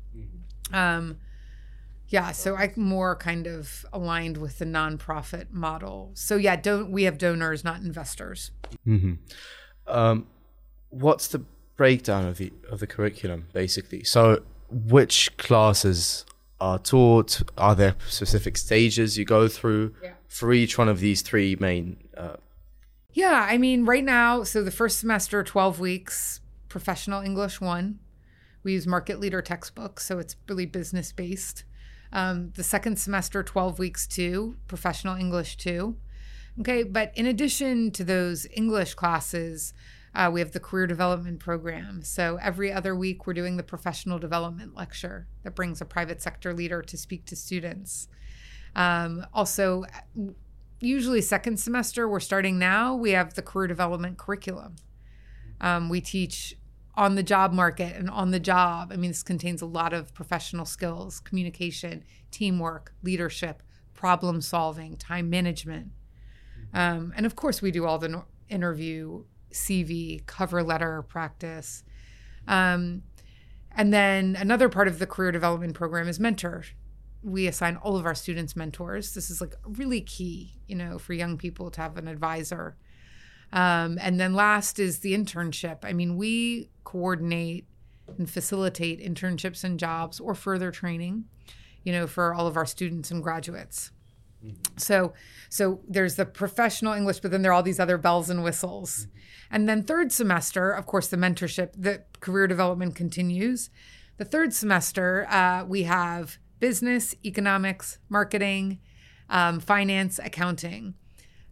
So I'm more kind of aligned with the nonprofit model. So we have donors, not investors. Mm-hmm. What's the breakdown of the curriculum, basically? So which classes are taught? Are there specific stages you go through for each one of these three main? Right now, so the first semester, 12 weeks, Professional English 1. We use market leader textbooks, so it's really business based. The second semester, 12 weeks 2, Professional English 2. Okay, but in addition to those English classes, we have the career development program. So every other week, we're doing the professional development lecture that brings a private sector leader to speak to students. Also, usually second semester, we're starting now, we have the career development curriculum. We teach on the job market and on the job. This contains a lot of professional skills, communication, teamwork, leadership, problem solving, time management. And of course, we do all the interview, CV, cover letter practice. And then another part of the career development program is mentor. We assign all of our students mentors. This is like really key, for young people to have an advisor. And then last is the internship. We coordinate and facilitate internships and jobs or further training, for all of our students and graduates. Mm-hmm. So there's the professional English, but then there are all these other bells and whistles. Mm-hmm. And then third semester, of course, the mentorship, the career development continues. The third semester, we have business, economics, marketing, finance, accounting.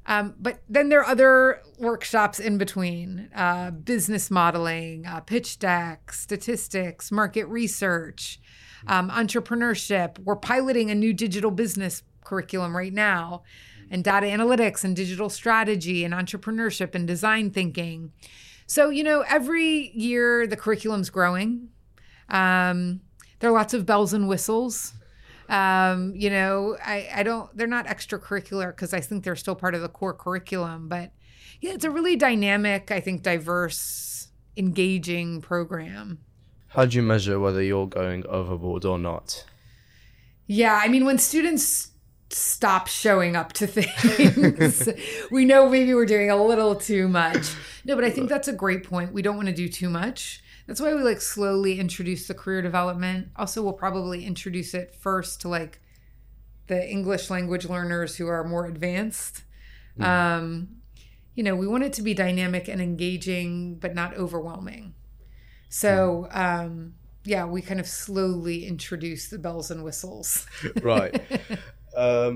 But then there are other workshops in between, business modeling, pitch deck, statistics, market research, entrepreneurship. We're piloting a new digital business curriculum right now, and data analytics and digital strategy and entrepreneurship and design thinking. So, every year the curriculum's growing. There are lots of bells and whistles. They're not extracurricular because I think they're still part of the core curriculum, but yeah, it's a really dynamic, I think, diverse, engaging program. How do you measure whether you're going overboard or not? Yeah, when students stop showing up to things, we know maybe we're doing a little too much. No, but I think that's a great point. We don't want to do too much. That's why we slowly introduce the career development. Also, we'll probably introduce it first to the English language learners who are more advanced. We want it to be dynamic and engaging, but not overwhelming. So, we kind of slowly introduce the bells and whistles. Right. I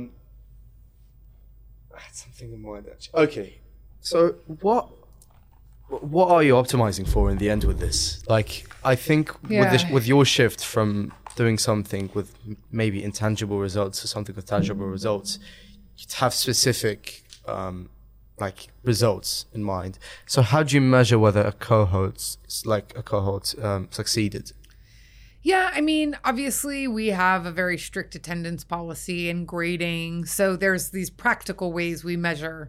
had something in mind actually. Okay, so what are you optimizing for in the end with this? I think with your shift from doing something with maybe intangible results to something with tangible results, you'd have specific results in mind. So how do you measure whether a cohort succeeded? Yeah, obviously we have a very strict attendance policy and grading. So there's these practical ways we measure,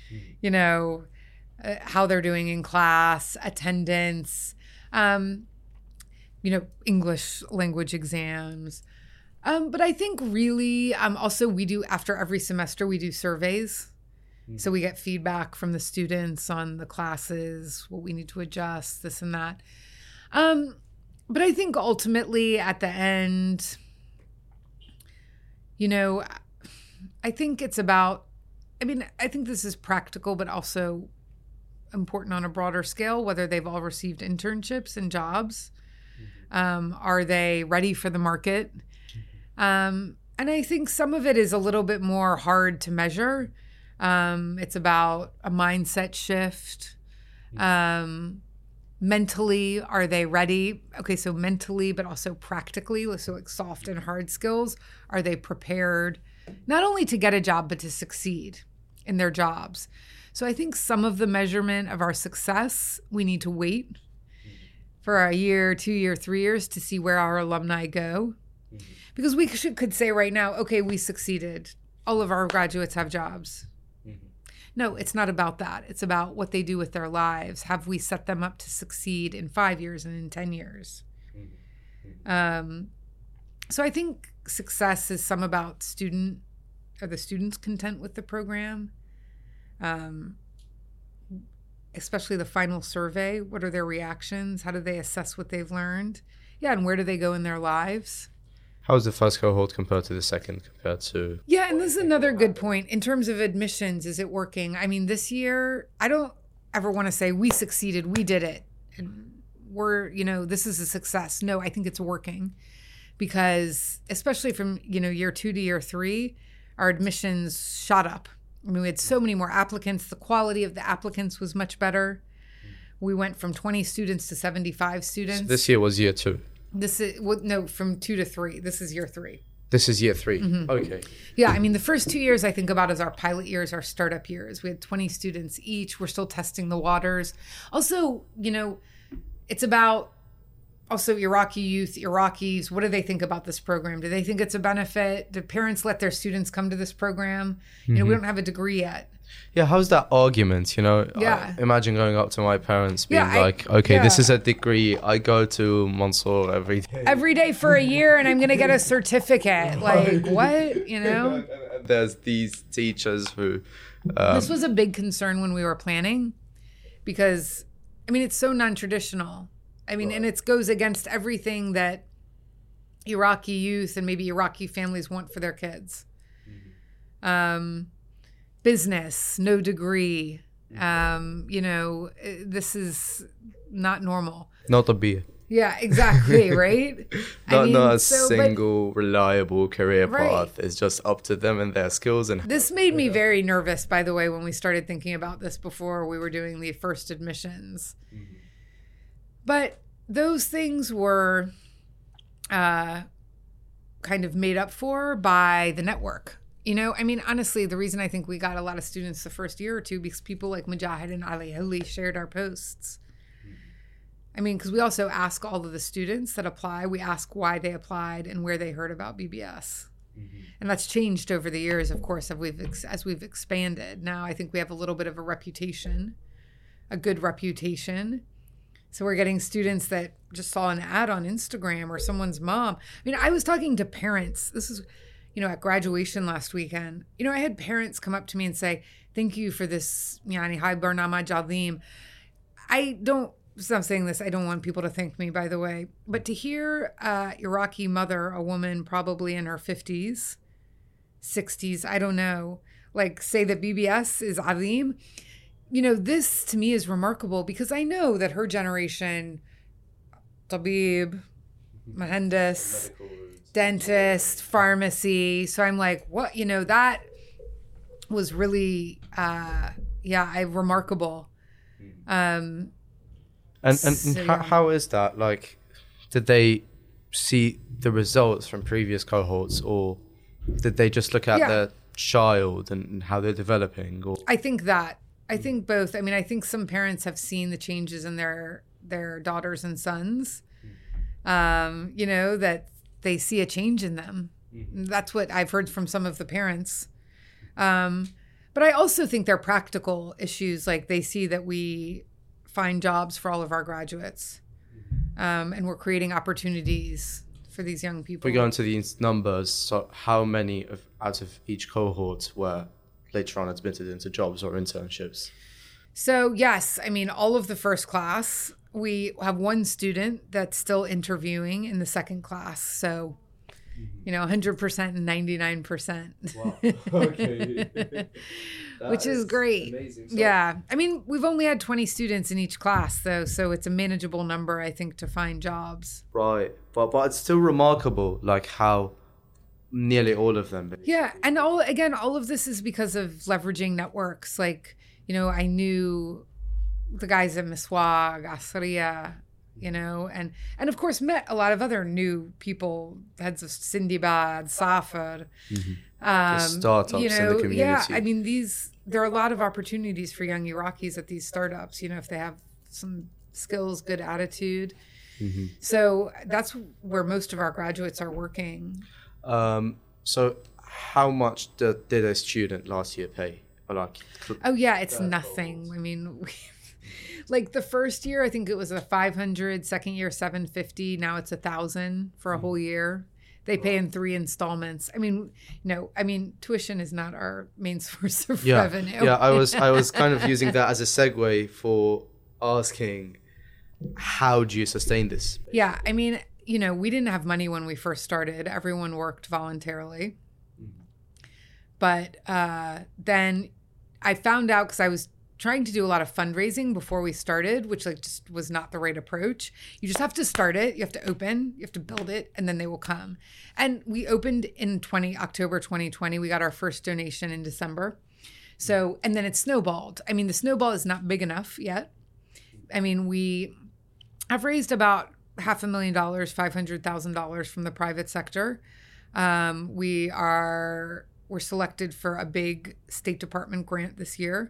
how they're doing in class, attendance, English language exams. But I think really also we do, after every semester, we do surveys. So we get feedback from the students on the classes, what we need to adjust, this and that. But I think ultimately at the end, I think it's about, I think this is practical, but also important on a broader scale, whether they've all received internships and jobs. Are they ready for the market? And I think some of it is a little bit more hard to measure. It's about a mindset shift. Mentally, are they ready? Okay, so mentally, but also practically, so soft and hard skills. Are they prepared not only to get a job, but to succeed in their jobs? So I think some of the measurement of our success, we need to wait for a year, 2 years, 3 years to see where our alumni go. Because we could say right now, okay, we succeeded. All of our graduates have jobs. No, it's not about that. It's about what they do with their lives. Have we set them up to succeed in 5 years and in 10 years? So I think success is some about are the students content with the program? Especially the final survey. What are their reactions? How do they assess what they've learned? Yeah, and where do they go in their lives? How is the first cohort compared to the second compared to? Yeah, and this is another good point. In terms of admissions, is it working? This year, I don't ever want to say we succeeded, we did it, and this is a success. No, I think it's working because especially from, year 2 to year 3, our admissions shot up. We had so many more applicants. The quality of the applicants was much better. We went from 20 students to 75 students. So this year was year 2. This is from 2 to 3. This is year 3. This is year 3. Mm-hmm. Okay. Yeah, the first 2 years I think about as our pilot years, our startup years. We had 20 students each. We're still testing the waters. Also, it's about also Iraqi youth, Iraqis. What do they think about this program? Do they think it's a benefit? Do parents let their students come to this program? We don't have a degree yet. Yeah, how's that argument? Imagine going up to my parents being this is a degree. I go to Mansour every day. Every day for a year and I'm going to get a certificate. What? There's these teachers who... this was a big concern when we were planning because, it's so non-traditional. And it goes against everything that Iraqi youth and maybe Iraqi families want for their kids. Business, no degree. This is not normal. No طبية. Yeah, exactly, right? Not a single reliable career path. It's just up to them and their skills. And this made me very nervous, by the way, when we started thinking about this before we were doing the first admissions. Mm-hmm. But those things were kind of made up for by the network. You know, I mean, honestly, the reason I think we got a lot of students the first year or two because people like Mujahid and Ali Holi shared our posts. I mean, because we also ask all of the students that apply, we ask why they applied and where they heard about BBS. Mm-hmm. And that's changed over the years, of course, as we've expanded. Now I think we have a little bit of a reputation, a good reputation. So we're getting students that just saw an ad on Instagram or someone's mom. I mean, I was talking to parents. This is, you know, at graduation last weekend. You know, I had parents come up to me and say, thank you for this, yani, Hai Barnamaj Azeem. I'm saying this, I don't want people to thank me, by the way, but to hear Iraqi mother, a woman probably in her 50s, 60s, I don't know, like say that BBS is Azeem, you know, this to me is remarkable because I know that her generation, tabib, mahendis, dentist, pharmacy. So I'm like, what, you know, that was really, remarkable. How is that? Like, did they see the results from previous cohorts, or did they just look at their child and how they're developing? Or I think both. I mean, I think some parents have seen the changes in their daughters and sons. You know, that they see a change in them. That's what I've heard from some of the parents. But I also think they're practical issues. Like they see that we find jobs for all of our graduates. And we're creating opportunities for these young people. We go into these numbers. So how many out of each cohort were later on admitted into jobs or internships? So yes, I mean, all of the first class, we have one student that's still interviewing in the second class. So, you know, 100% and 99%. Wow. Okay. Which is great. Amazing. Yeah. I mean, we've only had 20 students in each class, though. So it's a manageable number, I think, to find jobs. Right. But it's still remarkable, like how nearly all of them. Basically. Yeah. And all of this is because of leveraging networks. Like, you know, I knew the guys at Miswag, Asriya, you know, and of course met a lot of other new people, heads of Sindibad, Safar. Startups you know, in the community. Yeah, I mean, there are a lot of opportunities for young Iraqis at these startups, you know, if they have some skills, good attitude. Mm-hmm. So that's where most of our graduates are working. So how much did a student last year pay? Oh, yeah, it's nothing. I mean, like the first year, I think it was a 500, second year, 750. Now it's 1,000 for a whole year. They pay in 3 installments. I mean, tuition is not our main source of revenue. Yeah, I was kind of using that as a segue for asking, how do you sustain this? Yeah, I mean, you know, we didn't have money when we first started. Everyone worked voluntarily. But then I found out, because I was trying to do a lot of fundraising before we started, which like just was not the right approach. You just have to start it. You have to open, you have to build it, and then they will come. And we opened in October 2020. We got our first donation in December. So, and then it snowballed. I mean, the snowball is not big enough yet. I mean, we have raised about $500,000, $500,000 from the private sector. We're selected for a big State Department grant this year.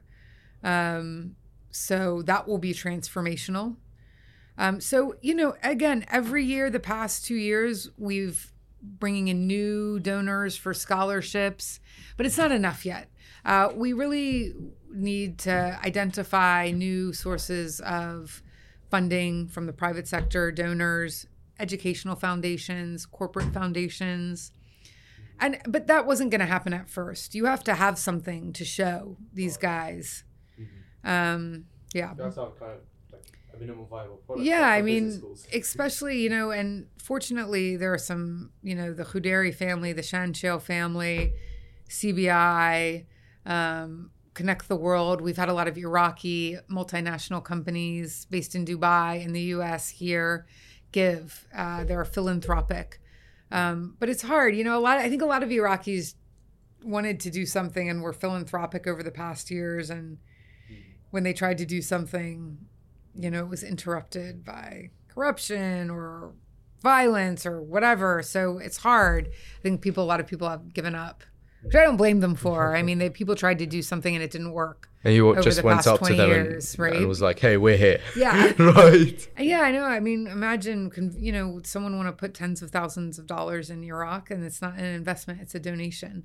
So that will be transformational. So, you know, again, every year, the past 2 years, we've bringing in new donors for scholarships, but it's not enough yet. We really need to identify new sources of funding from the private sector, donors, educational foundations, corporate foundations. But that wasn't going to happen at first. You have to have something to show these guys. Yeah. That's how kind of like a minimum viable product. Yeah, I mean, especially, you know, and fortunately there are some, you know, the Khuderi family, the Shanshale family, CBI, Connect the World. We've had a lot of Iraqi multinational companies based in Dubai, in the US, here, give. They're philanthropic. But it's hard. I think a lot of Iraqis wanted to do something and were philanthropic over the past years. And when they tried to do something, it was interrupted by corruption or violence or whatever. So it's hard. I think a lot of people have given up, which I don't blame them for. I mean, people tried to do something and it didn't work. And you just went up to them and was like, hey, we're here. Yeah. Right. Yeah, I know. I mean, imagine, someone want to put tens of thousands of dollars in Iraq, and it's not an investment, it's a donation.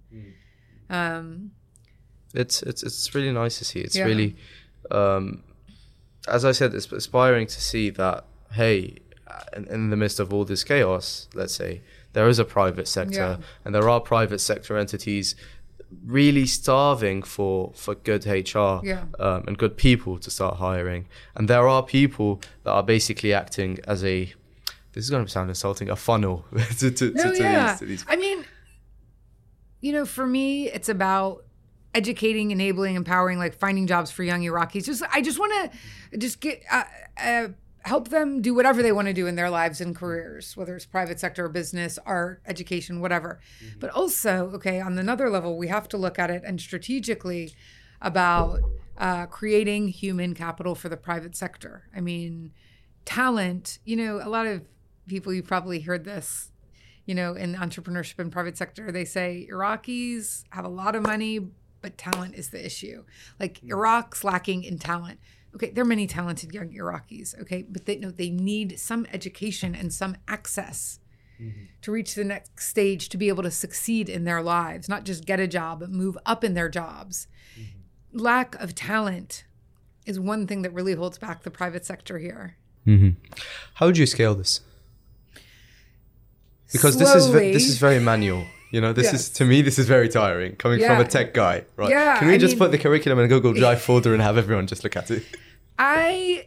It's really nice to see. It's really, as I said, it's inspiring to see that, hey, in the midst of all this chaos, let's say, there is a private sector and there are private sector entities really starving for good HR and good people to start hiring. And there are people that are basically acting as this is going to sound insulting, a funnel to these. I mean, for me, it's about educating, enabling, empowering, like finding jobs for young Iraqis. I just want to get help them do whatever they want to do in their lives and careers, whether it's private sector or business, art, education, whatever. But also, on another level, we have to look at it and strategically about creating human capital for the private sector. I mean, talent, a lot of people, you probably heard this, in entrepreneurship and private sector, they say Iraqis have a lot of money, but talent is the issue. Like Iraq's lacking in talent. Okay, there are many talented young Iraqis, but they need some education and some access to reach the next stage to be able to succeed in their lives, not just get a job, but move up in their jobs. Lack of talent is one thing that really holds back the private sector here. How would you scale this? Because slowly. this is very manual. To me, this is very tiring coming from a tech guy, right? Yeah, Can we just put the curriculum in a Google Drive folder and have everyone just look at it? I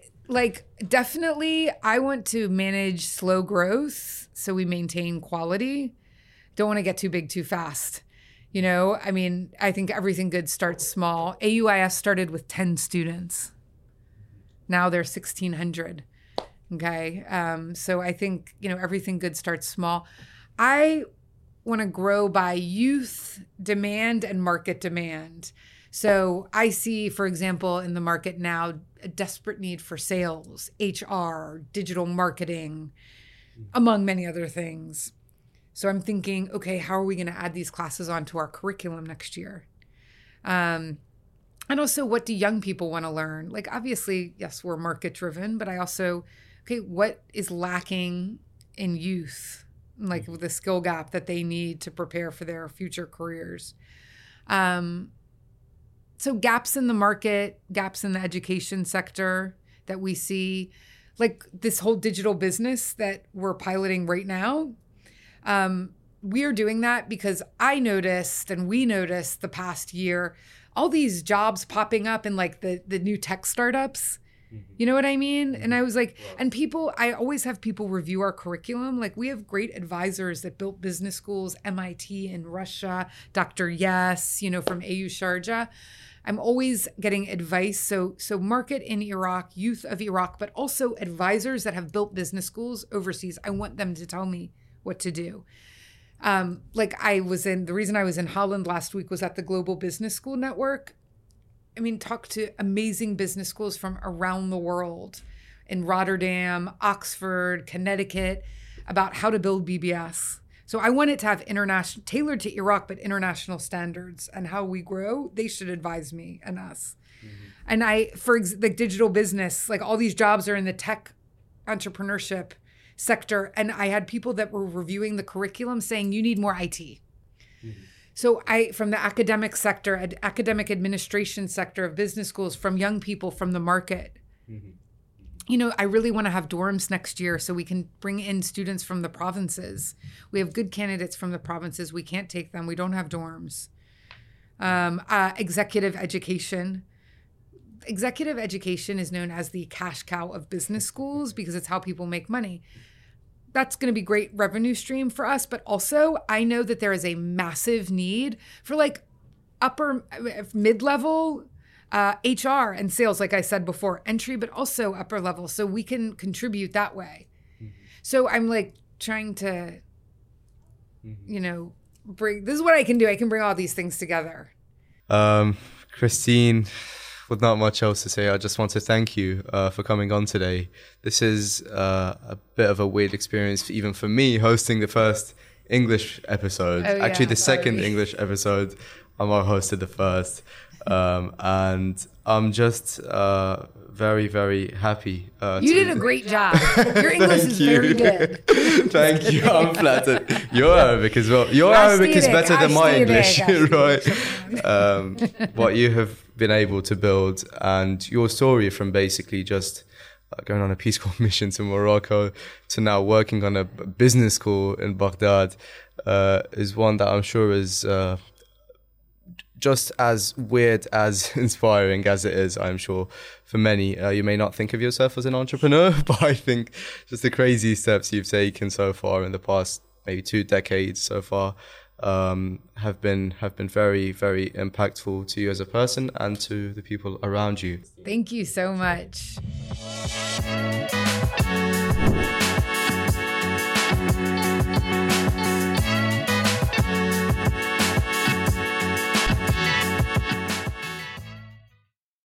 want to manage slow growth so we maintain quality. Don't want to get too big too fast. I think everything good starts small. AUIS started with 10 students. Now there's 1,600. Okay. So I think, everything good starts small. I want to grow by youth demand and market demand. So I see, for example, in the market now, a desperate need for sales, HR, digital marketing, among many other things. So I'm thinking, how are we going to add these classes onto our curriculum next year? And also, what do young people want to learn? Like, obviously, yes, we're market driven, but I also, what is lacking in youth? Like with the skill gap that they need to prepare for their future careers. So gaps in the market, gaps in the education sector that we see, like this whole digital business that we're piloting right now. We are doing that because I noticed and we noticed the past year, all these jobs popping up in like the new tech startups. You know what I mean? And I was like, and I always have people review our curriculum. Like we have great advisors that built business schools, MIT in Russia, Dr. Yes, from AU Sharjah. I'm always getting advice. So market in Iraq, youth of Iraq, but also advisors that have built business schools overseas. I want them to tell me what to do. The reason I was in Holland last week was at the Global Business School Network. Talk to amazing business schools from around the world in Rotterdam, Oxford, Connecticut, about how to build BBS. So I want it to have international, tailored to Iraq, but international standards and how we grow. They should advise me and us. And the digital business, like all these jobs are in the tech entrepreneurship sector. And I had people that were reviewing the curriculum saying, you need more IT. So from the academic sector, academic administration sector of business schools, from young people, from the market, I really want to have dorms next year so we can bring in students from the provinces. We have good candidates from the provinces. We can't take them. We don't have dorms. Executive education. Executive education is known as the cash cow of business schools because it's how people make money. That's going to be great revenue stream for us. But also I know that there is a massive need for like upper mid-level HR and sales, like I said before, entry, but also upper level. So we can contribute that way. So I'm like trying to, bring, this is what I can do. I can bring all these things together. Christine, with not much else to say, I just want to thank you for coming on today. This is a bit of a weird experience, even for me, hosting the first English episode. Actually, the second English episode. Amar hosted the first. And I'm just very, very happy. You did a great job. Your English is very good. Thank you. I'm flattered. Your Arabic as well. Your Arabic is better than my English, right? What you have been able to build, and your story from basically just going on a Peace Corps mission to Morocco to now working on a business school in Baghdad is one that I'm sure is just as weird as inspiring as it is, I'm sure, for many. You may not think of yourself as an entrepreneur, but I think just the crazy steps you've taken so far in the past maybe 2 decades so far have been very, very impactful to you as a person and to the people around you. Thank you so much.